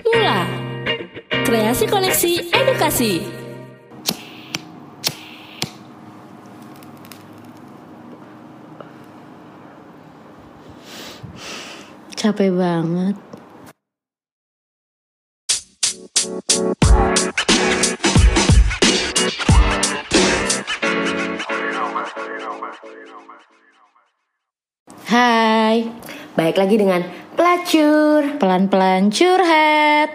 Mula, kreasi koneksi edukasi. Capek banget. Hai, Baik lagi dengan pelacur. pelan-pelan curhat.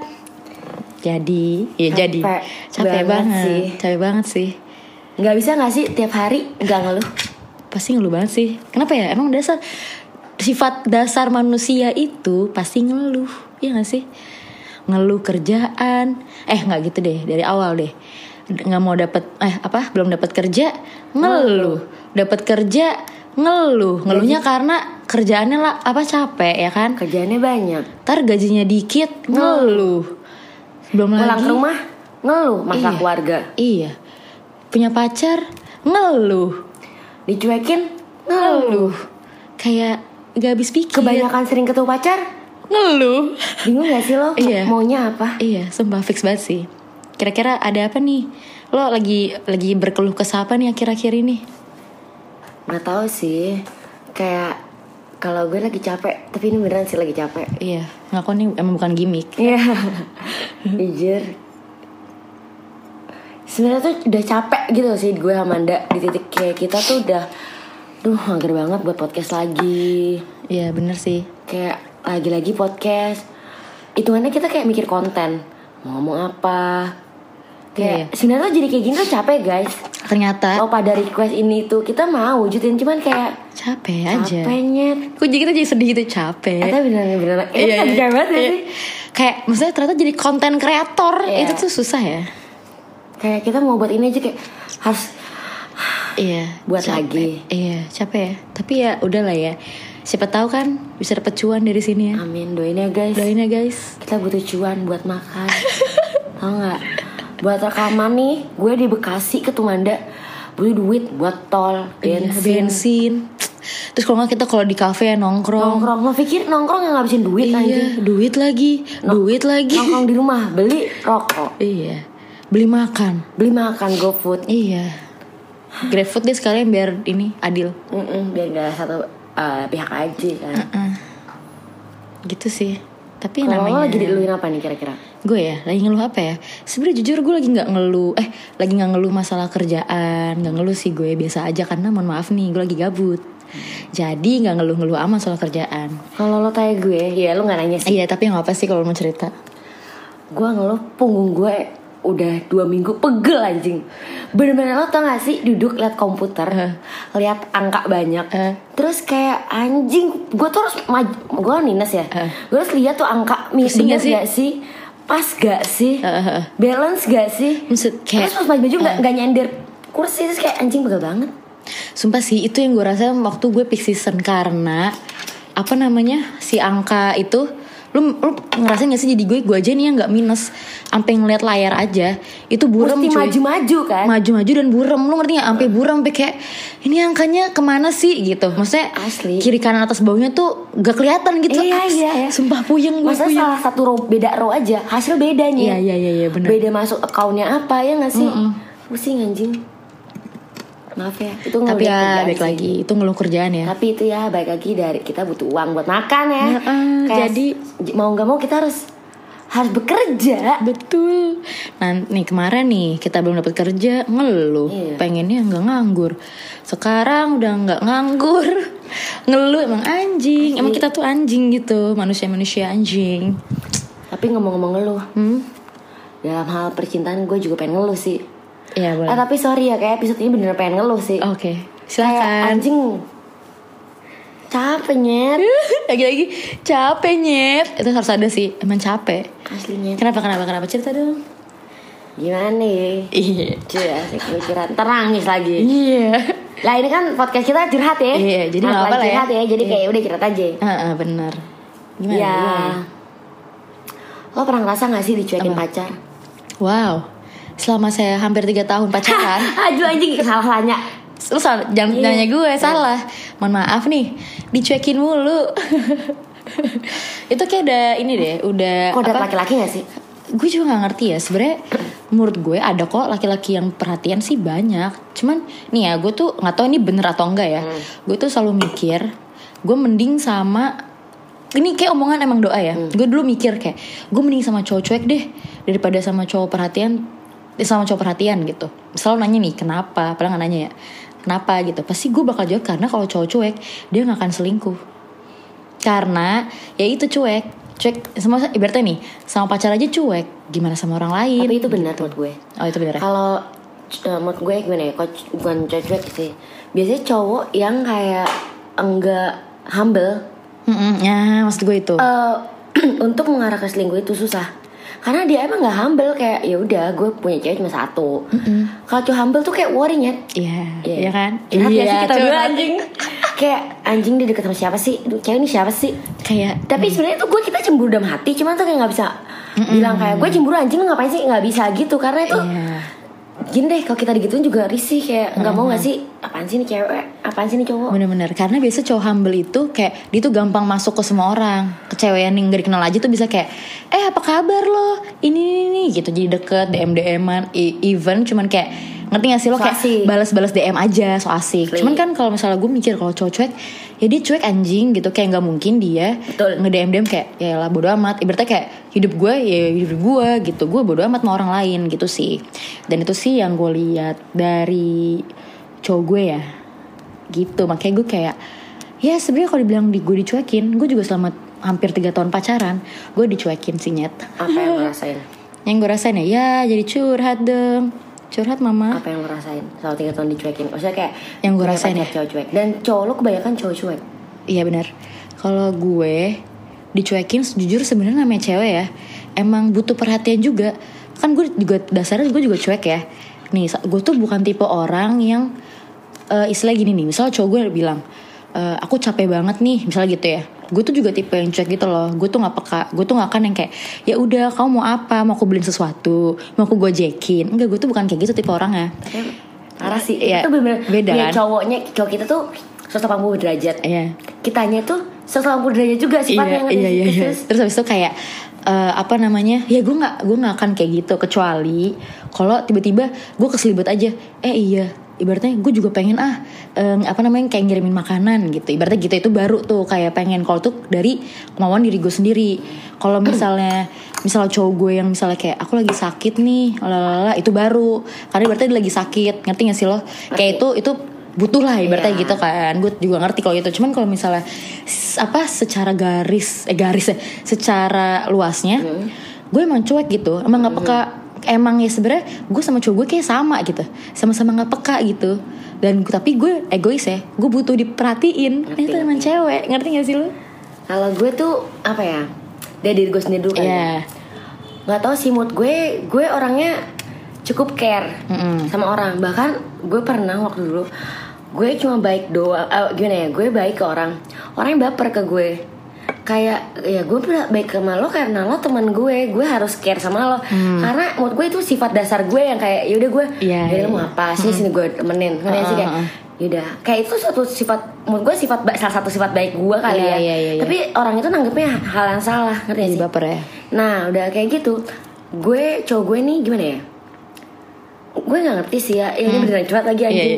Jadi capek banget. Capek banget sih. Gak bisa gak sih tiap hari gak ngeluh? Pasti ngeluh banget sih. Kenapa ya? Emang sifat dasar manusia itu pasti ngeluh, ya gak sih? Ngeluh kerjaan. Gak gitu deh, dari awal deh. Nggak mau belum dapat kerja, ngeluh. Dapat kerja, ngeluhnya karena kerjaannya capek ya kan, Kerjaannya banyak. ntar gajinya dikit, ngeluh. Belum Pulang lagi ke rumah ngeluh masalah Iya. keluarga. iya, punya pacar, ngeluh. Dicuekin Ngeluh, kayak gak habis pikir. Kebanyakan sering ketemu pacar. ngeluh. Bingung gak sih lo Iya. maunya apa? Iya, sumpah fix banget sih. Kira-kira ada apa nih? Lo lagi berkeluh kesah apa nih akhir-akhir ini? Gak tahu sih. Kayak kalau gue lagi capek, tapi ini beneran sih lagi capek. Iya, ngaku nih emang bukan gimmick. Iya. Jujur. Sebenarnya tuh udah capek gitu sih gue sama Anda. Di titik kayak kita tuh udah mager banget buat podcast lagi. Iya, bener sih. Kayak lagi-lagi podcast. Hitungannya kita kayak mikir konten. Mau ngomong apa. Kayak sebenarnya tuh jadi kayak gini tuh capek guys. Ternyata Kalau pada request ini tuh kita mau wujudin. Cuman kayak capek aja. capeknya. Kok kita jadi sedih gitu, capek. Kita beneran capek banget ya sih. Kayak maksudnya ternyata jadi konten kreator. Iya. Itu tuh susah ya. Kayak kita mau buat ini aja kayak harus Iya, buat capek. lagi. Iya, capek ya. Tapi ya udahlah ya. Siapa tahu kan bisa dapet cuan dari sini ya. Amin, doain ya guys. Doain ya guys. Kita butuh cuan buat makan. Tau gak? Buat rekaman nih, gue di Bekasi ke Tumanda butuh duit buat tol, Iya, bensin. bensin. Terus kalau nggak kita kalau di kafe ya nongkrong. Nongkrong, lo pikir nongkrong yang ngabisin duit Iya, anjing? duit lagi. Nongkrong di rumah, beli rokok, Iya, beli makan. beli makan GoFood. Iya, GrabFood deh sekalian biar ini adil. Biar gak satu pihak aja kan. Gitu sih. Tapi Kalau lo namanya lagi diluin apa nih kira-kira? gue ya lagi ngeluh apa ya? Sebenarnya jujur gue lagi nggak ngeluh masalah kerjaan, nggak ngeluh sih gue biasa aja karena mohon maaf nih gue lagi gabut. Jadi nggak ngeluh amat soal kerjaan. Kalau lo tanya gue, ya lo gak nanya sih. Iya tapi nggak apa sih kalau mau cerita. Gue ngeluh punggung gue udah 2 minggu pegel anjing. Bener-bener lo tau gak sih duduk liat komputer, liat angka banyak, terus kayak anjing gue tuh harus gue minus ya, gue harus lihat tuh angka Pusing bener gak gak sih, pas gak sih, balance gak sih. Maksud kayak Terus pas maju gak nyender kursi, terus kayak anjing pegel banget. Sumpah sih itu yang gue rasa waktu gue peak season karena si angka itu lu ngerasain gak sih jadi gue aja nih yang nggak minus sampai ngeliat layar aja itu buram Mesti cuy. maju-maju kan. Maju-maju dan buram, lu ngerti gak? Sampai buram, sampai kayak ini angkanya kemana sih gitu. Maksudnya Asli. kiri kanan atas bawahnya tuh gak kelihatan gitu. Iya. Sumpah puyeng gue. Masa salah satu beda row aja hasil bedanya. Iya benar. Beda masuk accountnya apa ya gak sih? Pusing anjing. Maaf ya, itu Tapi ngeluh ya kerjaan baik sih. lagi itu ngeluh kerjaan ya. Tapi itu ya baik lagi dari kita butuh uang buat makan ya. Jadi mau nggak mau kita harus bekerja. betul. Nah nih kemarin nih kita belum dapat kerja ngeluh. Iya. Pengennya nggak nganggur. Sekarang udah nggak nganggur. Ngeluh emang anjing. Emang kita tuh anjing gitu. Manusia anjing. Tapi ngomong-ngomong ngeluh, dalam hal percintaan gue juga pengen ngeluh sih. Iya boleh. Tapi sorry ya, kayak episode ini bener pengen ngeluh sih. Oke, Kayak silakan. anjing capek nyet. Lagi-lagi capek nyet. Itu harus ada sih, emang capek. Aslinya. Kenapa cerita dong. Gimana nih? Iya. Cuy, asik gue curhat. Ntar nangis lagi. Iya. Lah ini kan podcast kita curhat ya. Iya, jadi nggak apa-apa lah ya. curhat ya. Jadi kayak udah curhat aja. Bener. Gimana? Ya. Gimana? Lo pernah ngerasa gak sih dicuekin Apa? pacar? Wow. Selama saya hampir 3 tahun pacaran. Aduh anjing salah tanya. Lu salah, jangan nanya gue, salah. Mohon maaf nih, dicuekin mulu. Itu kayak udah ini deh, udah Kodrat laki-laki gak sih? Gue juga nggak ngerti ya sebenarnya. Menurut gue ada kok laki-laki yang perhatian sih banyak. Cuman nih ya, gue tuh nggak tahu ini bener atau enggak ya. Gue tuh selalu mikir, gue mending sama, ini kayak omongan emang doa ya. Gue dulu mikir kayak, gue mending sama cowok cuek deh daripada sama cowok perhatian. Sama cowok perhatian gitu. Selalu nanya nih kenapa, padahal nggak nanya ya. Kenapa gitu? Pasti gue bakal jawab karena kalau cowok cuek dia nggak akan selingkuh. Karena ya itu cuek sama ibaratnya nih sama pacar aja cuek, gimana sama orang lain. Tapi itu benar menurut gue. Oh itu benar ya. Kalau menurut gue gimana ya, bukan cowok cuek sih, biasanya cowok yang kayak enggak humble. Ya maksud gue itu untuk mengarah ke selingkuh itu susah. Karena dia emang nggak humble, kayak ya udah gue punya cewek cuma satu. Kalau cowok humble tuh kayak worrynya. Iya kan. Iya sih kita coba. berdua anjing. Kayak anjing dia deket sama siapa sih? Cewek ini siapa sih? Kayak tapi sebenarnya tuh gue kita cemburu dalam hati, cuman tuh kayak nggak bisa bilang kayak gue cemburu anjing lu ngapain sih, nggak bisa gitu karena itu gini deh, kalau kita digituin juga risih kayak nggak mau nggak sih, apaan sih nih cewek, apaan sih nih cowok. Bener-bener karena biasa cowok humble itu kayak dia tuh gampang masuk ke semua orang. Ke cewek yang gak dikenal aja tuh bisa kayak apa kabar lo, ini gitu, jadi deket, DM-an, even cuman kayak ngerti gak sih lo, kayak balas-balas DM aja, so asik. Cuman kan kalau misalnya gue mikir kalau cowok cuek, ya dia cuek anjing gitu, kayak nggak mungkin dia nge-DM kayak ya lah bodo amat. Ibaratnya kayak hidup gue ya hidup gue gitu, gue bodo amat sama orang lain gitu sih. Dan itu sih yang gue lihat dari cowok gue ya, gitu. Makanya gue kayak ya sebenarnya kalau dibilang gue dicuekin, gue juga selama hampir 3 tahun pacaran gue dicuekin sih nyet. Apa yang lo rasain? Yang gue rasain ya jadi curhat dong. Curhat mama. Apa yang lo rasain selama 3 tahun dicuekin? Maksudnya kayak yang gue rasain ya cowok cuek. Dan cowok lo kebanyakan cowok cuek. Iya benar. Kalau gue dicuekin, jujur sebenarnya namanya cewek ya, emang butuh perhatian juga. Kan gue juga dasarnya gue juga cuek ya. Nih gue tuh bukan tipe orang yang istilah gini nih. Misal cowok gue bilang aku capek banget nih, misalnya gitu ya. Gue tuh juga tipe yang cuek gitu loh. Gue tuh nggak peka. Gue tuh nggak akan yang kayak ya udah kamu mau apa, mau aku beliin sesuatu, mau aku gojekin. Enggak, gue tuh bukan kayak gitu tipe orangnya. Parah sih. Ya, itu bener-bener beda kan. Cowok kita tuh 180 derajat. Iya. Kitanya tuh 180 derajat juga sifatnya. Iya. Terus habis itu kayak apa namanya? Ya gue nggak akan kayak gitu kecuali kalau tiba-tiba gue keselibet aja. Iya. Ibaratnya gue juga pengen kayak ngirimin makanan gitu. Ibaratnya gitu, itu baru tuh kayak pengen. Kalau tuh dari kemauan diri gue sendiri. Kalau misalnya cowok gue yang misalnya kayak aku lagi sakit nih, lalala, itu baru. Karena ibaratnya dia lagi sakit, ngerti gak sih lo? Kayak itu butuh lah ibaratnya gitu kan. Gue juga ngerti kalau itu. Cuman kalau misalnya secara secara luasnya, gue emang cuek gitu, emang nggak peka. Emang ya sebenarnya gue sama cowok gue kayak sama gitu, sama-sama nggak peka gitu. Dan tapi gue egois ya, gue butuh diperhatiin. Itu emang cewek, ngerti gak sih lo? Kalau gue tuh apa ya, dari diri gue sendiri dulu kan. Nggak tahu sih, mood gue orangnya cukup care sama orang. Bahkan gue pernah waktu dulu gue cuma baik doang, gimana ya, gue baik ke orang yang baper ke gue. Kayak ya gue baik sama lo karena lo teman gue harus care sama lo. Karena menurut gue itu sifat dasar gue yang kayak yaudah gue lo mau apa sini gue temenin. Karena sih kayak yaudah, kayak itu suatu sifat, menurut gue salah satu sifat baik gue kali ya. Tapi orang itu nanggepnya hal yang salah, ngerti sih? Baper ya. Nah udah kayak gitu, cowok gue nih gimana ya, gue nggak ngerti sih ya. Ini beneran curhat lagi anjing.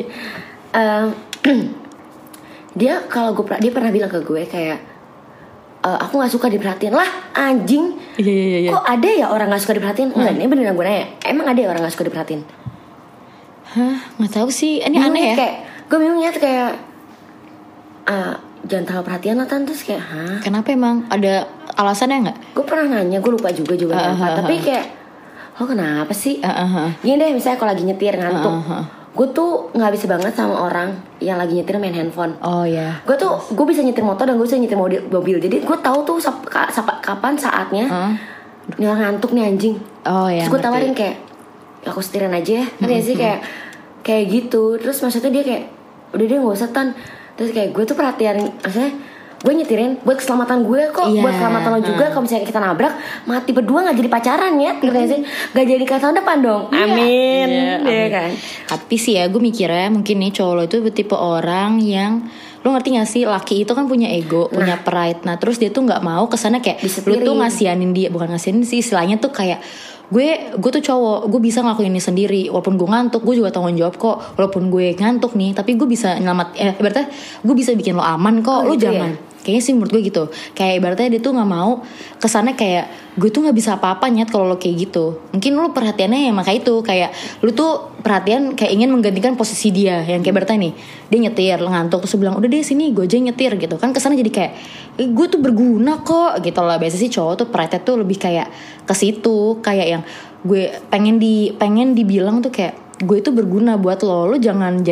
Dia pernah bilang ke gue kayak aku nggak suka diperhatiin. Lah anjing. Iya. Kok ada ya orang nggak suka diperhatiin? Enggak, ini beneran gue nanya, emang ada ya orang nggak suka diperhatiin? Nggak tahu sih, ini aneh ya. Kayak gue bingungnya tuh kayak jangan terlalu perhatian lah tante. Terus kayak kenapa, emang ada alasannya nggak? Gue pernah nanya, gue lupa juga jawabannya. Tapi kayak lo kenapa sih? Gini deh, misalnya kalau lagi nyetir ngantuk, gue tuh nggak bisa banget sama orang yang lagi nyetir main handphone. Oh ya. Gue bisa nyetir motor dan gue bisa nyetir mobil. Jadi gue tahu tuh kapan saatnya ini orang ngantuk nih anjing. Oh ya. Terus gue tawarin kayak aku setirin aja ya. Ngerti sih kayak gitu. Terus maksudnya dia kayak udah dia nggak usah tan. Terus kayak gue tuh perhatian, maksudnya gue nyetirin buat keselamatan gue kok, buat keselamatan lo juga. Kalau misalnya kita nabrak, mati berdua nggak jadi pacaran ya, ngerti sih? Nggak jadi nikah tahun depan dong. Amin. Iya kan. Tapi sih ya gue mikirnya mungkin nih cowok lo itu tipe orang yang Lu ngerti gak sih, laki itu kan punya ego, punya pride. Nah terus dia tuh gak mau kesana kayak Disetirin. lu tuh ngasihanin dia. Bukan ngasihanin sih, istilahnya tuh kayak gue tuh cowok, gue bisa ngelakuin ini sendiri. Walaupun gue ngantuk, gue juga tanggung jawab kok. Walaupun gue ngantuk nih, tapi gue bisa ibaratnya gue bisa bikin lo aman kok. Lu gitu jangan ya? Kayaknya sih menurut gue gitu. Kayak ibaratnya dia tuh gak mau kesana kayak gue tuh gak bisa apa-apa Nyet kalau lo kayak gitu. Mungkin lu perhatiannya ya makanya itu, kayak lu tuh perhatian kayak ingin menggantikan posisi dia. Yang kayak ibaratnya nih, dia nyetir, lo ngantuk, terus bilang udah deh sini gue aja nyetir gitu. Kan kesana jadi kayak gue tuh berguna kok gitu lah. Biasa sih cowok tuh perhatian tuh lebih kayak ke situ, kayak yang gue pengen dibilang tuh kayak gue itu berguna buat lo. Lo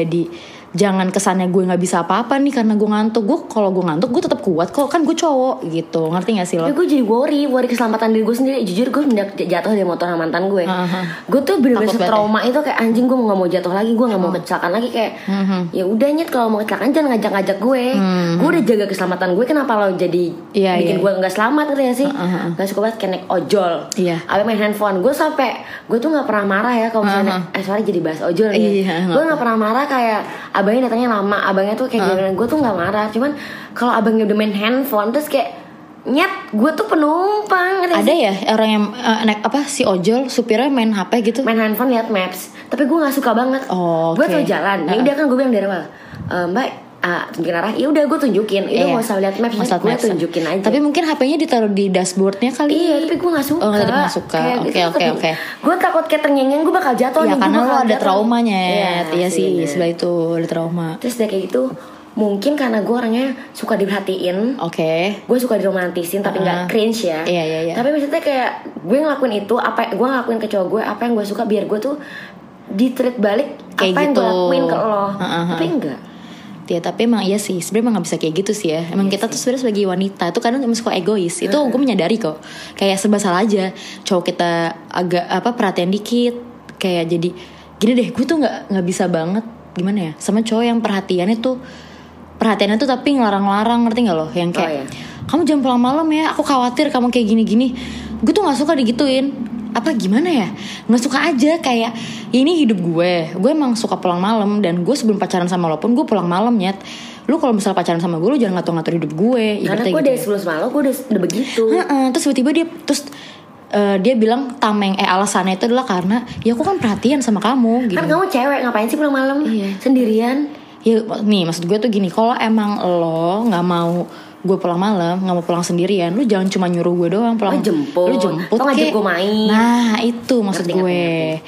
jangan kesannya gue nggak bisa apa-apa nih karena gue ngantuk. Kalau gue ngantuk gue tetap kuat kok, kan gue cowok gitu. Ngerti gak sih lo? Tapi gue jadi worry keselamatan diri gue sendiri. Jujur gue jatuh dari motor sama mantan gue. Gue tuh bener-bener trauma itu, kayak anjing gue nggak mau jatuh lagi, gue nggak mau kecelakaan lagi. Kayak ya udah Nyet, kalau mau kecelakaan jangan ngajak-ngajak gue. Gue udah jaga keselamatan gue, kenapa lo jadi bikin gue nggak selamat, ngerti gak sih? Gak suka banget kayak naik ojol, apa main handphone. Gue tuh nggak pernah marah ya kalau misalnya sorry jadi bahas ojol nih. Gue nggak pernah marah kayak abangnya datangnya lama, abangnya tuh kayak gimana, gue tuh nggak marah. Cuman kalau abangnya udah main handphone terus kayak Nyet, gue tuh penumpang. Ada ya orang yang naik si ojol supirnya main HP gitu, main handphone lihat maps. Tapi gue nggak suka banget. Gue tuh jalan, ya udah kan gue bilang dari awal, Mbak tunjukin arah, ya udah gue tunjukin. Itu nggak usah lihat maps, gue tunjukin aja. Tapi mungkin HP-nya ditaruh di dashboardnya kali. Iya, tapi gue nggak suka. Tapi nggak suka. Oke. Gue takut kayak ternyeng-nyeng gue bakal jatuh. Ya karena lo ada traumanya. Iya sih, bener. sebelah itu ada trauma. Terus udah kayak gitu, mungkin karena gue orangnya suka diperhatiin. Gue suka diromantisin tapi nggak cringe ya. Iya. Tapi maksudnya kayak gue ngelakuin itu, gue ngelakuin ke cowok gue apa yang gue suka, biar gue tuh di-treat balik kayak apa yang gue lakuin ke lo. Tapi enggak. Ya tapi emang iya sih, sebenarnya emang gak bisa kayak gitu sih ya. Emang kita tuh sebenarnya sebagai wanita tuh kadang emang suka egois. Itu gue menyadari kok. Kayak serba salah aja. Cowok kita agak perhatian dikit, kayak jadi gini deh, gue tuh nggak bisa banget gimana ya sama cowok yang perhatiannya tuh tapi ngelarang-larang, ngerti nggak lo? Yang kayak kamu jangan pulang malam ya, aku khawatir kamu kayak gini-gini. Gue tuh nggak suka digituin. Apa gimana ya, nggak suka aja. Kayak ini hidup gue emang suka pulang malam, dan gue sebelum pacaran sama lo pun gue pulang malam Nyet. Lu kalau misalnya pacaran sama gue, lu jangan ngatur-ngatur hidup gue. Karena gue dari sebelum sama lo gue udah begitu. Terus tiba-tiba dia bilang alasannya itu adalah karena ya aku kan perhatian sama kamu gitu. Kan kamu cewek, ngapain sih pulang malam sendirian? Ya nih maksud gue tuh gini, kalau emang lo nggak mau gue pulang malam, nggak mau pulang sendirian, lu jangan cuma nyuruh gue doang pulang. Lu jemput atau ngajak gue main. Nah itu maksud gue.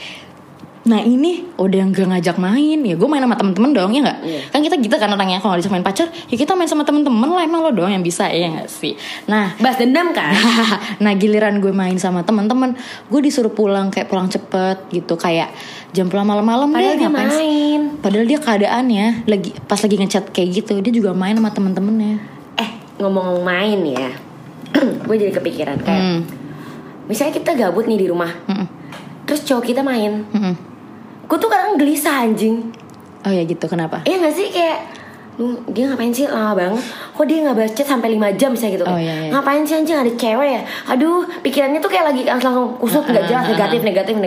Nah ini udah gak ngajak main, ya gue main sama temen-temen dong, ya nggak? Kan kita gitu kan orangnya, kalau ngajak main pacar, ya kita main sama temen-temen lah. Emang lo doang yang bisa, ya nggak sih? Nah, balas dendam kan? Nah giliran gue main sama temen-temen, gue disuruh pulang kayak pulang cepet gitu, kayak jam pulang malam-malam deh. Dia main. Padahal dia keadaannya pas lagi ngechat kayak gitu, dia juga main sama temen-temennya. Ngomong main ya, gue jadi kepikiran kayak misalnya kita gabut nih di rumah, terus cowok kita main. Gue tuh kadang gelisah anjing. Oh ya gitu, kenapa? Iya gak sih, kayak dia ngapain sih lama banget, kok dia gak balas chat sampai 5 jam misalnya gitu. Iya. Ngapain sih anjing, ada cewek ya. Aduh, pikirannya tuh kayak lagi langsung kusut, gak jelas, negatif.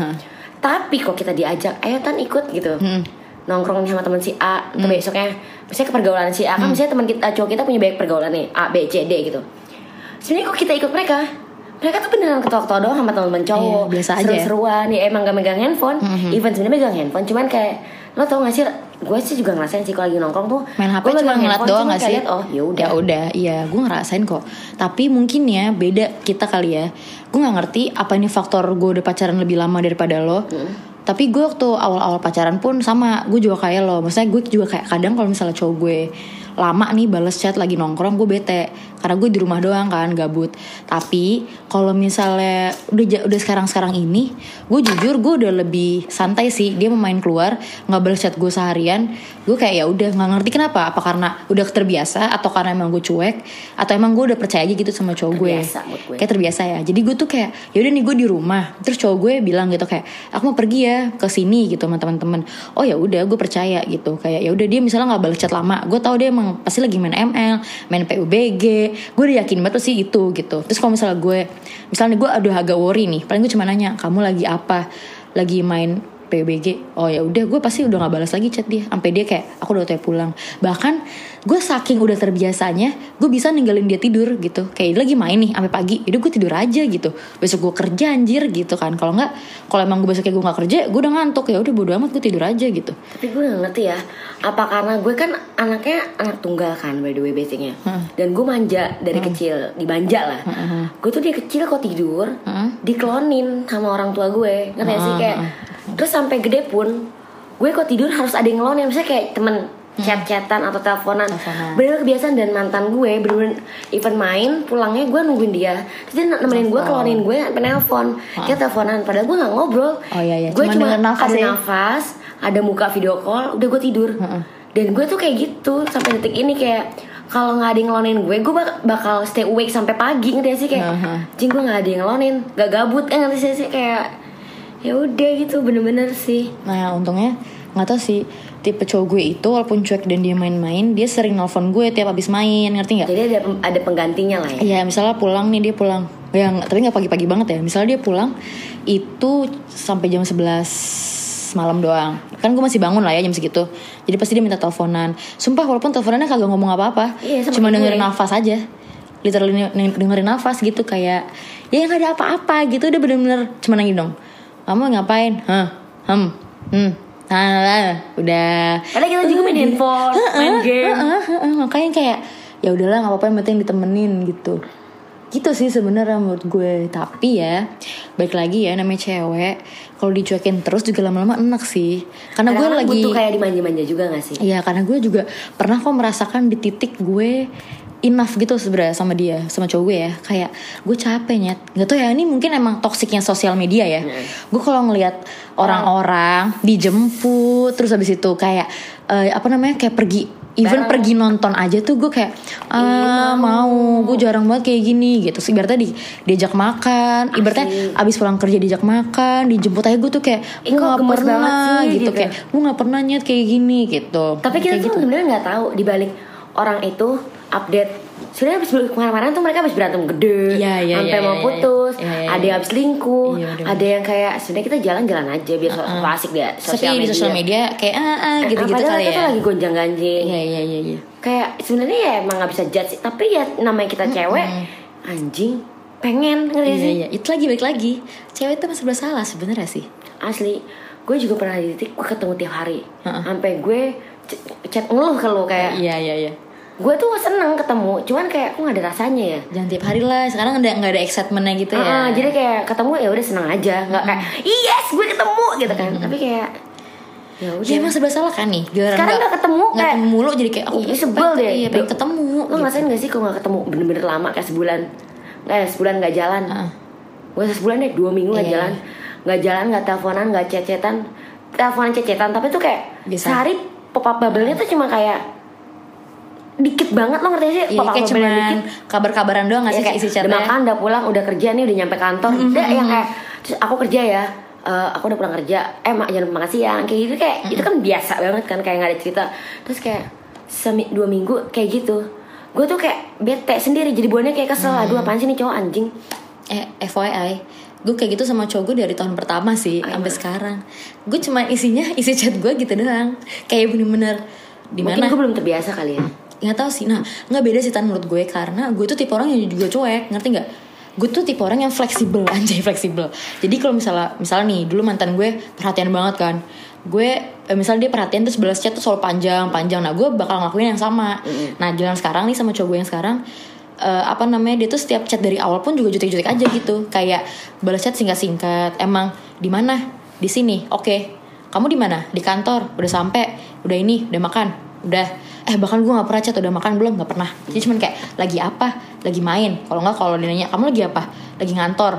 Tapi kok kita diajak, ayo Tan ikut gitu, nongkrong sama teman si A, atau besoknya misalnya ke pergaulan si A, kan misalnya teman kita cowok kita punya banyak pergaulan nih, A, B, C, D gitu. Sebenarnya kok kita ikut mereka tuh beneran ketawa-ketawa doang sama teman-teman cowok, biasa aja, seru-seruan ya, emang gak megang handphone. Even sebenarnya megang handphone, cuman kayak lo tau gak sih, gue sih juga ngerasain sih kalau lagi nongkrong tuh main HP cuma ngeliat doang gak sih? Oh yaudah, iya gue ngerasain kok. Tapi mungkin ya beda kita kali ya. Gue gak ngerti apa ini faktor gue udah pacaran lebih lama daripada lo. Tapi gue waktu awal-awal pacaran pun sama, gue juga kayak lo. Maksudnya gue juga kayak kadang kalau misalnya cowok gue lama nih bales chat lagi nongkrong, gue bete karena gue di rumah doang kan, gabut. Tapi kalau misalnya udah sekarang ini, gue jujur gue udah lebih santai sih. Dia mau main keluar nggak bales chat gue seharian, gue kayak ya udah, nggak ngerti kenapa. Apa karena udah terbiasa atau karena emang gue cuek, atau emang gue udah percaya aja gitu sama cowok gue. Kayak terbiasa ya. Jadi gue tuh kayak ya udah nih gue di rumah, terus cowok gue bilang gitu kayak aku mau pergi ya ke sini gitu sama teman-teman. Oh ya udah, gue percaya gitu. Kayak ya udah, dia misalnya nggak balas chat lama, gue tahu dia emang pasti lagi main ML, main PUBG. Gue udah yakin banget sih itu gitu. Terus kalau misalnya gue udah agak worry nih, paling gue cuma nanya, kamu lagi apa? Lagi main PBG, oh ya udah gue pasti udah nggak balas lagi chat dia sampai dia kayak aku udah pulang. Bahkan gue saking udah terbiasanya gue bisa ninggalin dia tidur gitu, kayak dia lagi main nih sampai pagi, udah gue tidur aja gitu, besok gue kerja anjir gitu kan. Kalau emang gue besoknya gue nggak kerja, gue udah ngantuk, ya udah bodo amat gue tidur aja gitu. Tapi gue nggak ngerti ya, apa karena gue kan anaknya anak tunggal kan by the way basicnya, dan gue manja dari kecil, dimanja lah. Gue tuh dia kecil kok tidur diklonin sama orang tua gue, ngerti gak sih kayak. Terus sampai gede pun gue kok tidur harus ada yang ngelonin, misalnya kayak temen chat-chatan atau teleponan. Bener kebiasaan. Dan mantan gue bener-bener even main pulangnya gue nungguin dia, terus dia nemenin gue, kelonin gue sampai nelpon, kayak teleponan padahal gue nggak ngobrol. Gue cuma ada nafas, ada muka video call, udah gue tidur. Dan gue tuh kayak gitu sampai detik ini, kayak kalau nggak ada yang ngelonin gue bakal stay awake sampai pagi, ngerti sih kayak jing gue nggak ada yang ngelonin, nggak gabut, ngerti sih kayak ya udah gitu bener-bener sih. Nah untungnya nggak tahu sih, tipe cowok gue itu walaupun cuek dan dia main-main, dia sering nelfon gue tiap abis main, ngerti nggak? Jadi ada penggantinya lah ya. Iya, misalnya pulang nih, dia pulang tapi nggak pagi-pagi banget ya, misalnya dia pulang itu sampai jam 11 malam doang, kan gue masih bangun lah ya jam segitu, jadi pasti dia minta teleponan. Sumpah walaupun teleponannya kagak ngomong apa-apa, cuma dengerin nafas aja, literally dengerin nafas gitu, kayak ya nggak ada apa-apa gitu, udah bener-bener cuma nanya dong, kamu ngapain? Udah. Padahal kita juga main handphone, main game. Makanya kayak ya udahlah nggak apa-apa, yang penting ditemenin gitu. Gitu sih sebenarnya menurut gue. Tapi ya balik lagi ya, namanya cewek, kalau dicuekin terus juga lama-lama enak sih. Karena gue lagi butuh kayak dimanja-manja juga gak sih? Iya, karena gue juga pernah kok merasakan di titik gue enough gitu sebenarnya sama dia, sama cowok gue ya. Kayak gue capek nyet, nggak tau ya, ini mungkin emang toksiknya sosial media ya. Gue kalau ngelihat orang-orang dijemput terus habis itu kayak kayak pergi, even pergi nonton aja tuh gue kayak mau, gue jarang banget kayak gini gitu. Ibaratnya diajak makan, ibaratnya abis pulang kerja diajak makan, dijemput aja gue tuh kayak gue nggak pernah gitu, kayak gue nggak pernah nyet kayak gini gitu. Tapi kita tuh gitu sebenarnya nggak tahu dibalik orang itu update. Sebenarnya abis kemarin-kemarin tuh mereka abis berantem gede, sampai mau putus, ada yang abis selingkuh, ada yang kayak sebenarnya kita jalan-jalan aja biar asik dia sosial media kayak gitu-gitu kali ya. Kita lagi gonjang-ganjing. Iya. Kayak sebenarnya ya emang nggak bisa judge, tapi ya namanya kita cewek, anjing pengen ngerti sih. Iya. Itu lagi balik lagi, cewek itu masih bersalah sebenarnya sih. Asli, gue juga pernah di titik gue ketemu tiap hari, sampai gue chat ngeluh ke lo kayak. Iya. Gue tuh seneng ketemu, cuman kayak kok gak ada rasanya ya. Jangan tiap hari lah, sekarang nggak ada excitementnya gitu ya. Jadi kayak ketemu ya udah seneng aja, nggak kayak yes gue ketemu gitu kan. Tapi kayak ya udah. Ya emang serba salah kan nih. Sekarang nggak ketemu kayak mulu, jadi kayak sebel deh. Iya, pengen ketemu. Lo ngerasain gak sih kalau nggak ketemu bener-bener lama kayak sebulan nggak jalan. Gue sebulan deh, 2 minggu nggak jalan, nggak teleponan, nggak chat-chatan, tapi tuh kayak sehari pop-up bubble-nya tuh cuma kayak dikit banget, lo ngerti sih? Iya, kayak cuma kabar-kabaran doang gak sih isi chatnya? Udah makan, udah pulang, udah kerja nih, udah nyampe kantor. Udah yang kayak terus aku kerja ya, aku udah pulang kerja, jangan makan siang, kayak gitu. Kayak itu kan biasa banget kan, kayak gak ada cerita. Terus kayak 2 minggu kayak gitu, gue tuh kayak bete sendiri, jadi buahnya kayak kesel. Aduh apaan sih nih cowok anjing. FYI, gue kayak gitu sama cowok gue dari tahun pertama sih sampai sekarang. Gue cuma isi chat gue gitu doang, kayak bener-bener dimana. Mungkin gue belum terbiasa kali ya. Nggak tahu sih. Nah nggak beda sih Tan menurut gue, karena gue tuh tipe orang yang juga cuek, ngerti nggak? Gue tuh tipe orang yang fleksibel, anjay fleksibel. Jadi kalau misalnya nih dulu mantan gue perhatian banget kan, gue misalnya dia perhatian terus balas chat tuh selalu panjang. Nah gue bakal ngelakuin yang sama. Nah jalan sekarang nih sama cowok gue yang sekarang, dia tuh setiap chat dari awal pun juga jutek-jutek aja gitu, kayak balas chat singkat-singkat. Emang di mana? Di sini. Oke. Kamu di mana? Di kantor. Udah sampai. Udah ini. Udah makan. Udah. Bahkan gue nggak pernah chat udah makan belum, nggak pernah. Jadi cuman kayak lagi apa? Lagi main. Kalau dia nanya kamu lagi apa? Lagi ngantor,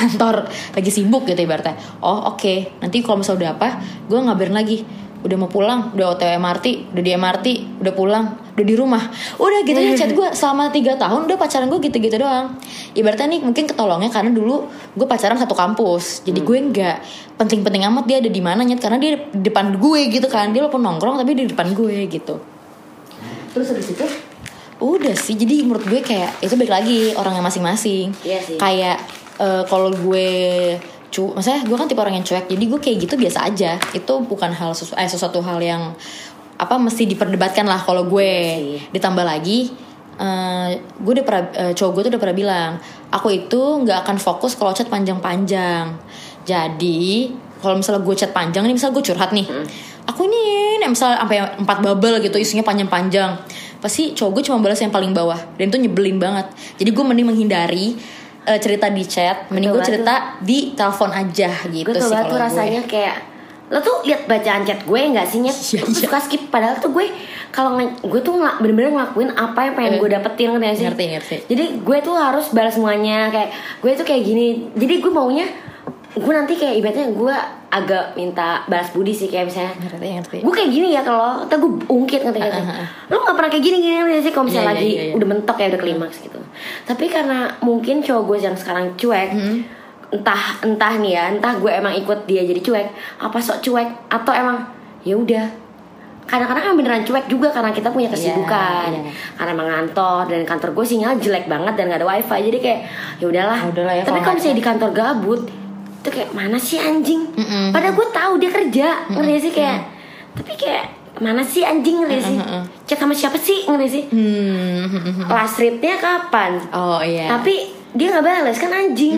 lagi sibuk gitu ibaratnya. Oh oke. Nanti kalau misalnya udah apa, gue ngabarin lagi. Udah mau pulang, udah OTW MRT, udah di MRT, udah pulang, udah di rumah. Udah gitu aja chat gue selama 3 tahun. Udah pacaran gue gitu-gitu doang. Ibaratnya nih mungkin ketolongnya karena dulu gue pacaran satu kampus. Jadi gue nggak penting-penting amat dia ada di mana nyet, karena dia di depan gue gitu kan. Dia walaupun nongkrong tapi di depan gue gitu. Terus habis itu udah sih, jadi menurut gue kayak itu balik lagi orangnya masing-masing. Iya sih. Kayak kalau gue maksudnya gue kan tipe orang yang cuek, jadi gue kayak gitu biasa aja. Itu bukan sesuatu hal yang mesti diperdebatkan lah kalau gue. Ditambah lagi gue udah pernah cowok gue tuh udah pernah bilang, aku itu nggak akan fokus kalau chat panjang-panjang. Jadi kalau misalnya gue chat panjang nih, misalnya gue curhat nih, aku ini misalnya sampai 4 bubble gitu, isinya panjang-panjang, pasti cowok gue cuma balas yang paling bawah, dan itu nyebelin banget. Jadi gue mending menghindari cerita di chat, mending gue cerita di telepon aja gitu. Gue sih tuh rasanya kayak lo tuh lihat bacaan chat gue nggak sih Nyet? Gue suka skip, padahal tuh gue kalau gue tuh bener-bener ngelakuin apa yang pengen gue dapetin kan sih. Ngerti. Jadi gue tuh harus balas semuanya, kayak gue tuh kayak gini. Jadi gue maunya gue nanti kayak ibaratnya gue agak minta balas budi sih, kayak misalnya ngerti. gue kayak gini ya, kalau ntar gue ungkit ngerti lo nggak pernah kayak gini sih kalau misalnya lagi udah mentok ya, udah klimaks gitu. Tapi karena mungkin cowok gue yang sekarang cuek, entah nih ya, entah gue emang ikut dia jadi cuek, apa sok cuek, atau emang ya udah. Kadang-kadang kan beneran cuek juga karena kita punya kesibukan, karena emang ngantor, dan kantor gue sinyal jelek banget dan gak ada wifi, jadi kayak ya udahlah ya. Tapi kalau misalnya di kantor gabut itu kayak mana sih anjing, padahal gue tahu dia kerja, ngerti sih kayak, tapi kayak mana sih anjing, ngerti sih, chat sama siapa sih, ngerti sih, last read-nya kapan, tapi dia nggak balas kan anjing.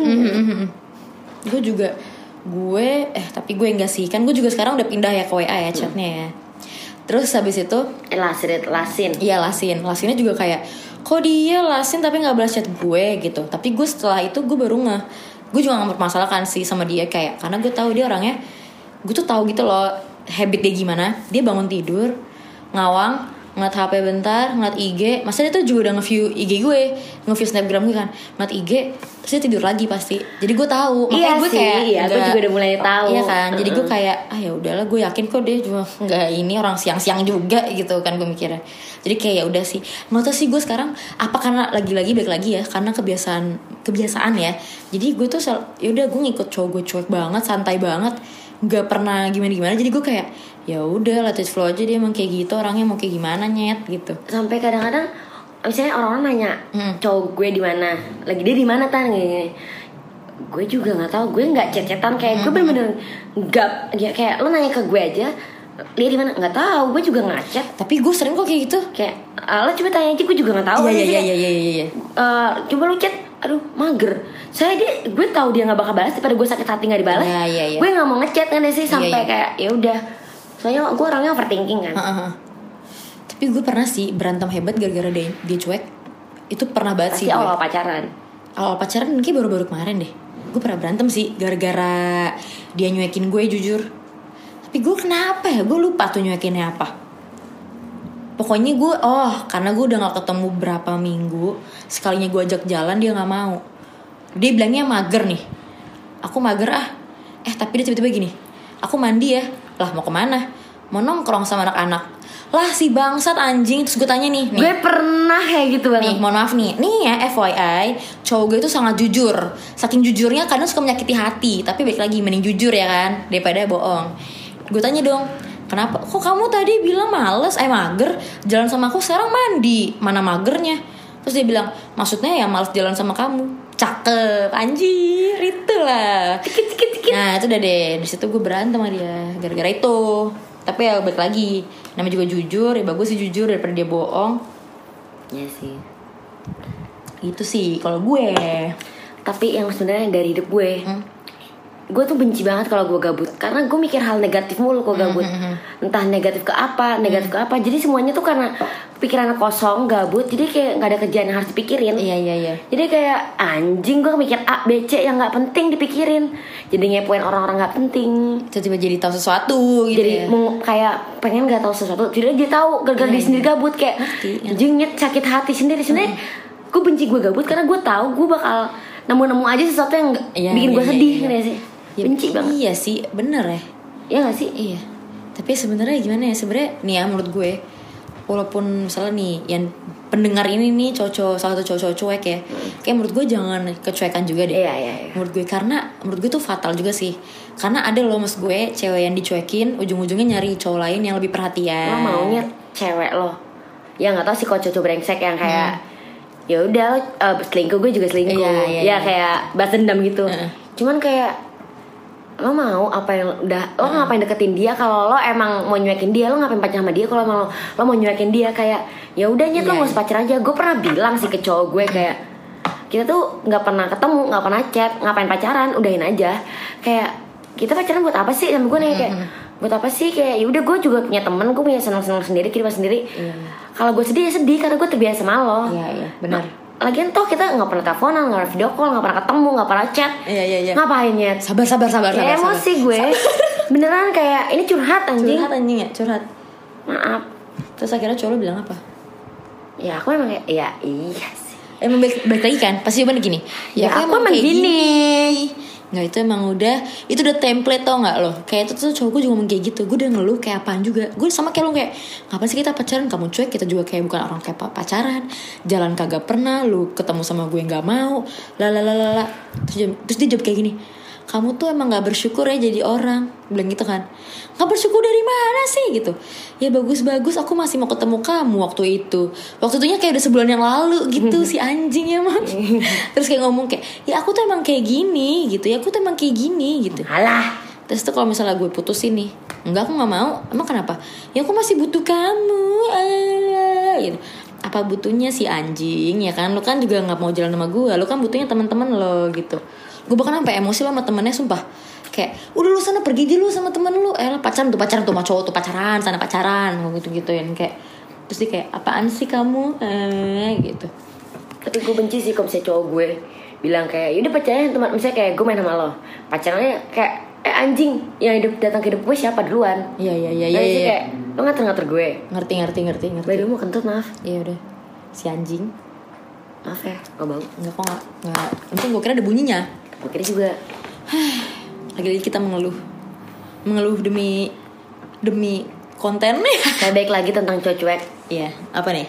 Gue juga tapi gue enggak sih, kan gue juga sekarang udah pindah ya ke WA ya chatnya ya. Terus habis itu lasinnya juga kayak, kok dia lasin tapi nggak balas chat gue gitu. Tapi gue setelah itu gue baru gue juga nggak mempermasalahkan sih sama dia, kayak karena gue tahu dia orangnya, gue tuh tahu gitu loh habit dia gimana. Dia bangun tidur ngawang, ngeliat HP bentar, ngeliat IG. Masa dia tuh juga udah nge-view IG gue, nge-view snapgram gue kan, ngeliat IG, terus dia tidur lagi pasti. Jadi gue tahu, makanya gue kayak gue juga udah mulai tahu. Iya kan, jadi gue kayak ya udahlah, gue yakin kok dia juga nggak ini orang siang-siang juga gitu kan, gue mikirnya. Jadi kayak ya udah sih, nggak tahu sih gue sekarang apa, karena lagi-lagi balik lagi ya, karena kebiasaan ya. Jadi gue tuh ya udah, gue ngikut cowok gue cuek banget, santai banget, nggak pernah gimana-gimana. Jadi gue kayak ya udah let it flow aja, dia emang kayak gitu orangnya, mau kayak gimana Nyet gitu. Sampai kadang-kadang misalnya orang-orang nanya cowok gue di mana, lagi dia di mana tan gini. Gue juga nggak tahu, gue nggak chat-chatan, kayak gue bener-bener nggak, kayak lo nanya ke gue aja dia di mana, nggak tahu, gue juga nggak chat. Tapi gue sering kok kayak gitu, kayak lo coba tanya aja, gue juga nggak tahu. Iya. Coba lo chat, aduh mager. Gue tahu dia nggak bakal balas, daripada gue sakit hati nggak dibalas. Iya. Gue nggak mau ngechat kan sih, sampai kayak ya udah. Soalnya gue orangnya overthinking kan. Tapi gue pernah sih berantem hebat gara-gara dia cuek. Itu pernah banget pasti sih. Awal pacaran mungkin baru-baru kemarin deh. Gue pernah berantem sih gara-gara dia nyuekin gue, jujur. Tapi gue kenapa ya, gue lupa tuh nyuekinnya apa. Pokoknya gue karena gue udah gak ketemu berapa minggu, sekalinya gue ajak jalan dia gak mau. Dia bilangnya mager nih, aku mager tapi dia tiba-tiba gini, aku mandi ya. Lah mau kemana? Mau nongkrong sama anak-anak. Lah si bangsat anjing. Terus gue tanya nih, gue pernah kayak gitu banget. Nih mohon maaf nih ya FYI, cowok gue itu sangat jujur. Saking jujurnya kadang suka menyakiti hati. Tapi baik lagi, mending jujur ya kan, daripada bohong. Gue tanya dong, kenapa? Kok kamu tadi bilang males, mager jalan sama aku, sekarang mandi, mana magernya? Terus dia bilang, maksudnya ya males jalan sama kamu. Cakep, anjir, itulah. Tikit. Nah itu udah deh, di situ gue berantem sama dia gara-gara itu. Tapi ya balik lagi, namanya juga jujur, ya bagus sih jujur daripada dia bohong. Iya sih. Itu sih kalau gue. Tapi yang sebenarnya dari hidup gue, gue tuh benci banget kalau gue gabut, karena gue mikir hal negatif mulu kalau gabut. Entah negatif ke apa. Jadi semuanya tuh karena pikiran kosong, gabut. Jadi kayak nggak ada kerjaan yang harus dipikirin. Iya. Jadi kayak anjing, gue mikir A, B, C yang nggak penting dipikirin. Jadi ngepoin orang-orang nggak penting. Tiba-tiba jadi tahu sesuatu gitu. Jadi kayak pengen nggak tahu sesuatu. Jadi dia tahu gara-gara dia sendiri gabut, kayak anjing Nyet, sakit hati sendiri. Sebenarnya gue benci gue gabut karena gue tahu gue bakal nemu aja sesuatu yang bikin gue sedih, nggak sih? Ya, benci banget. Iya sih, bener ya. Iya gak sih? Iya. Tapi sebenarnya gimana ya? Sebenarnya nih ya menurut gue, walaupun misalnya nih yang pendengar ini nih salah satu cowok cuek ya, kayak menurut gue jangan kecuekan juga deh. Iya. Menurut gue, karena menurut gue tuh fatal juga sih. Karena ada loh mas gue cewek yang dicuekin, ujung-ujungnya nyari cowok lain yang lebih perhatian. Lo maunya cewek lo ya nggak tahu sih, kok cowok brengsek yang kayak ya udah selingkuh, gue juga selingkuh. Iya. Kayak balas dendam gitu. Cuman kayak lo mau apa yang lo ngapain deketin dia? Kalau lo emang mau nyuekin dia, lo ngapain pacaran sama dia? Kalau emang lo mau nyuekin dia, kayak ya udah nyet, lo nggak usah pacaran aja. Gue pernah bilang sih ke cowok gue kayak, kita tuh nggak pernah ketemu, nggak pernah chat, ngapain pacaran, udahin aja. Kayak kita pacaran buat apa sih? Sama gue nih kayak buat apa sih? Kayak ya udah, gue juga punya temen, gue punya senang-senang sendiri, kehidupan sendiri. Kalau gue sedih ya sedih karena gue terbiasa sama lo. Iya benar. Lagian toh kita nggak pernah teleponan, nggak pernah video call, nggak pernah ketemu, nggak pernah chat. Iya. Ngapain ya? Sabar. Ya, emosi gue. Beneran kayak ini curhat anjing. Curhat. Maaf. Terus akhirnya cowok lo bilang apa? Ya aku emang kayak ya iya sih. Emang balik lagi kan? Pasti jawabannya gini. Ya aku emang gini. Nggak, itu emang itu udah template, tau nggak lo? Kayak itu tuh cowok gue juga ngomong kayak gitu. Gue udah ngeluh kayak apaan juga. Gue sama kayak lo, kayak ngapain sih kita pacaran? Kamu cuek, kita juga kayak bukan orang kayak pacaran. Jalan kagak pernah, lu ketemu sama gue nggak mau. Lalalala. Terus dia jawab kayak gini. Kamu tuh emang gak bersyukur ya jadi orang. Bilang gitu kan. Gak bersyukur dari mana sih gitu. Ya bagus-bagus, aku masih mau ketemu kamu waktu itu. Waktu itunya kayak udah sebulan yang lalu gitu. Si anjing emang. Terus kayak ngomong kayak, ya aku tuh emang kayak gini gitu. Ya aku tuh emang kayak gini gitu. Alah. Terus tuh kalau misalnya gue putusin nih, enggak, aku gak mau. Emang kenapa? Ya aku masih butuh kamu. Gitu. Apa butuhnya si anjing ya kan? Lo kan juga gak mau jalan sama gue. Lo kan butuhnya teman-teman lo gitu. Gue bahkan sampai emosi lo sama temennya, sumpah. Kayak udah lu sana pergi aja lu sama temen lu. Pacaran tuh sama cowok tuh pacaran, sana pacaran, gitu-gituin kayak. Terus dia kayak apaan sih kamu? Gitu. Tapi gue benci sih kalau misalnya cowok gue bilang kayak yaudah pacaran teman, misalnya kayak gue main sama lo, pacarannya kayak anjing yang datang ke hidup gue siapa duluan? Iya. Kayak lo ngatur gue. Ngerti. Baru mau kentut, maaf. Iya udah. Si anjing. Maaf ya, gak bau. Enggak kok enggak. Untung gue kira ada bunyinya. Gue kira juga. Lagi-lagi kita mengeluh demi konten. Kayak baik lagi tentang cowok cuek. Iya, apa nih?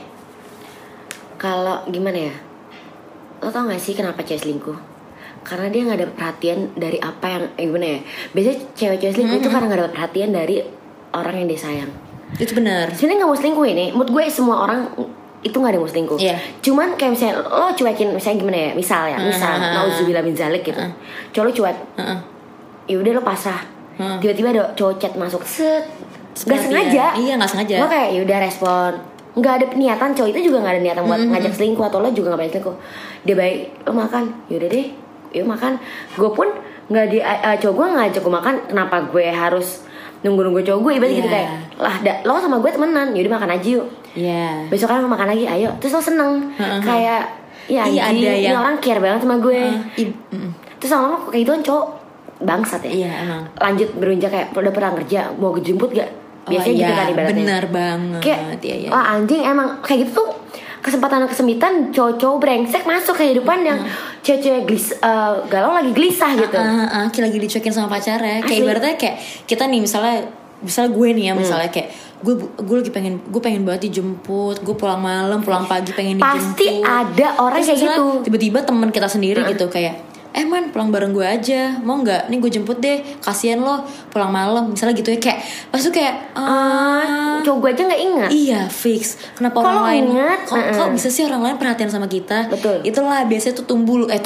Kalau gimana ya, lo tau gak sih kenapa cewek selingkuh? Karena dia gak dapet perhatian dari apa yang gimana ya, biasanya cewek-cewek selingkuh itu karena gak dapet perhatian dari orang yang dia sayang. Itu benar. Sebenarnya gak mau selingkuh ini, menurut gue semua orang itu gak ada yang mau selingkuh. Cuman kayak misalnya lo cuekin, misalnya gimana ya, misal nauzubillah min zalik gitu. Cowok lo cuek, ya udah lo pasrah. Tiba-tiba ada cowok chat masuk, set, gak sengaja. Iya, gak sengaja. Lo kayak ya udah respon, nggak ada niatan. Cowok itu juga nggak ada niatan buat ngajak selingkuh, atau lo juga nggak banyak selingkuh. Dia baik, lo makan, yaudah deh, yuk makan. Gue pun nggak cowok gue ngajak gue makan, kenapa gue harus nunggu cowok gue? Ibarat gitu kayak lah, lo sama gue temenan, yaudah makan aja yuk. Besok kan makan lagi, ayo. Terus lo seneng, kayak ya anjing, ini orang care banget sama gue. Terus lama-lama kayak gitu kan cowok bangsat ya. Lanjut berunjak kayak udah pernah kerja, mau kejemput gak? Biasanya gitu kan ibaratnya. Bener banget. Kayak wah anjing, emang kayak gitu tuh kesempatan kesempitan cowok-cowok brengsek masuk ke kehidupan yang cewek-cewek galau lagi gelisah gitu. Lagi dicuekin sama pacarnya. Kayak ibaratnya kayak kita nih misalnya gue nih ya, misalnya kayak gue lagi pengen banget dijemput, gue pulang malam pulang pagi pengen dijemput. Pasti ada orang kayak gitu. Tiba-tiba teman kita sendiri gitu kayak man pulang bareng gue aja, mau nggak? Nih gue jemput deh, kasihan lo pulang malam misalnya gitu ya. Kayak pas tuh kayak cowok gue aja nggak ingat. Iya fix. Kenapa kalo orang lain ingat? Kok bisa sih orang lain perhatian sama kita? Betul. Itulah biasanya tuh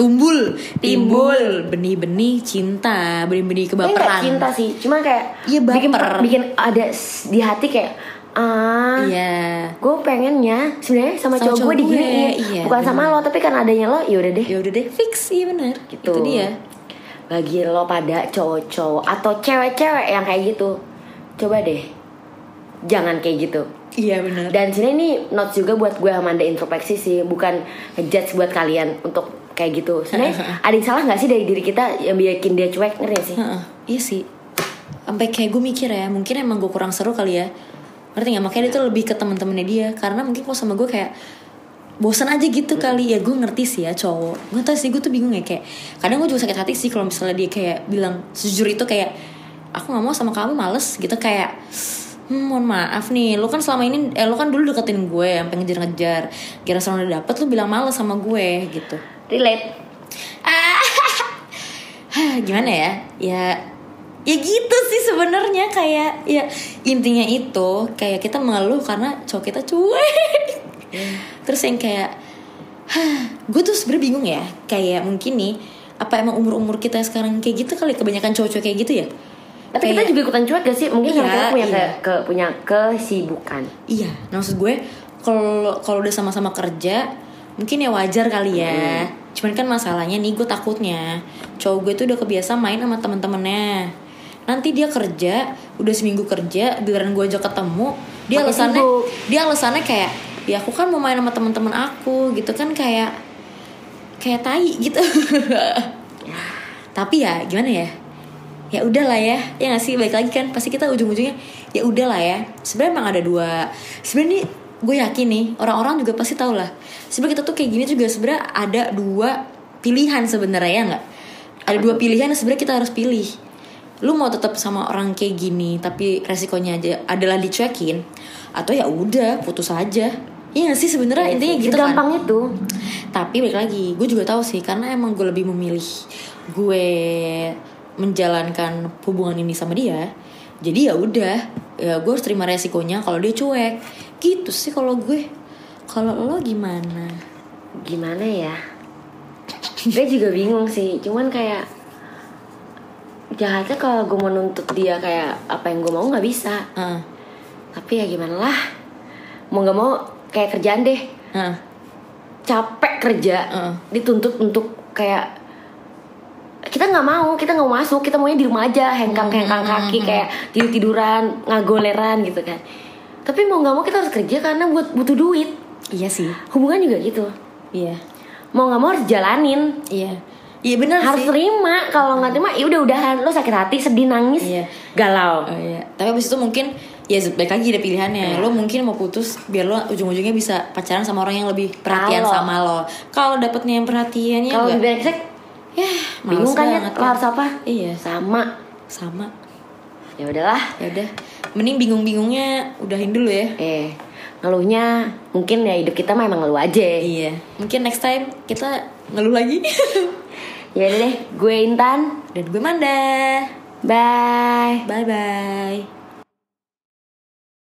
timbul benih-benih cinta, benih-benih kebaperan. Nggak cinta sih, cuma kayak bikin ada di hati kayak gue pengennya sebenarnya sama cowok gue diginiin, bukan sama lo, tapi kan adanya lo, yaudah deh fix. Iya benar gitu. Itu dia. Bagi lo pada cowok-cowok atau cewek-cewek yang kayak gitu, coba deh jangan kayak gitu. Iya benar. Dan sini ini notes juga buat gue sama Anda, introspeksi sih, bukan ngejudge buat kalian untuk kayak gitu. Sebenarnya ada yang salah nggak sih dari diri kita yang bikin dia cuek, ngerti sih? Iya sih. Sampai kayak gue mikir ya, mungkin emang gue kurang seru kali ya. Ngerti gak? Makanya dia tuh lebih ke temen-temennya dia. Karena mungkin kalau sama gue kayak bosan aja gitu kali ya. Gue ngerti sih ya cowok. Gue tau sih, gue tuh bingung ya. Kayak kadang gue juga sakit hati sih kalau misalnya dia kayak bilang sejujur itu kayak, aku gak mau sama kamu, males gitu. Kayak mohon maaf nih, lo kan selama ini lo kan dulu deketin gue sampai ngejar-ngejar, kira sekarang udah dapet lo bilang males sama gue gitu. Relate. Gimana ya gitu sih sebenarnya. Kayak ya intinya itu kayak kita mengeluh karena cowok kita cuek. Terus yang kayak gue tuh sebenarnya bingung ya, kayak mungkin nih Apa emang umur kita sekarang kayak gitu kali, kebanyakan cowok-cowok kayak gitu ya. Tapi kita juga ikutan cuek gak sih? Mungkin iya, kita punya kesibukan. Iya, maksud gue kalau udah sama-sama kerja mungkin ya wajar kali ya. Cuman kan masalahnya nih, gue takutnya cowok gue tuh udah kebiasa main sama teman-temannya. Nanti dia kerja, udah seminggu kerja, giliran gue ajak ketemu, dia alasannya kayak, ya aku kan mau main sama teman-teman aku gitu kan, kayak tai gitu. Tapi ya gimana ya? Ya udahlah ya nggak sih, balik lagi kan pasti kita ujung-ujungnya ya udahlah ya. Sebenarnya emang ada dua. Sebenarnya nih gue yakin nih orang-orang juga pasti tahu lah. Sebenarnya kita tuh kayak gini juga sebenarnya ada dua pilihan sebenarnya, ya nggak? Ada dua pilihan yang sebenarnya kita harus pilih. Lu mau tetap sama orang kayak gini tapi resikonya aja adalah dicuekin, atau ya udah putus aja. Iya gak sih sebenarnya, intinya gitu kan. Gampang itu. Tapi balik lagi, gue juga tahu sih, karena emang gue lebih memilih gue menjalankan hubungan ini sama dia. Jadi ya udah, ya gue harus terima resikonya kalau dia cuek. Gitu sih kalau gue. Kalau lo gimana? Gimana ya? Gue juga bingung sih. Cuman kayak jahatnya kalau gue mau nuntut dia kayak apa yang gue mau nggak bisa. Tapi ya gimana lah. Mau nggak mau kayak kerjaan deh. Capek kerja, dituntut untuk kayak kita nggak mau masuk, kita maunya di rumah aja, hengkang kaki, kayak tiduran, ngagoleran gitu kan. Tapi mau nggak mau kita harus kerja karena butuh duit. Iya sih. Hubungan juga gitu. Iya. Mau nggak mau harus jalanin. Iya. Iya benar sih. Harus terima. Kalau nggak terima, ya udahan. Lo sakit hati, sedih, nangis, galau. Oh, iya. Tapi abis itu mungkin ya baik lagi ada pilihannya. Lo mungkin mau putus biar lo ujung-ujungnya bisa pacaran sama orang yang lebih perhatian sama lo. Kalau dapetnya yang perhatiannya kalau lebih brengsek, ya bingung kan ya, lo harus apa? Iya, sama. Ya udahlah. Ya udah. Mending bingung-bingungnya udahin dulu ya. Ngeluhnya mungkin ya hidup kita memang ngeluh aja. Iya. Mungkin next time kita ngeluh lagi. Ya udah deh, gue Intan dan gue Manda. Bye. Bye.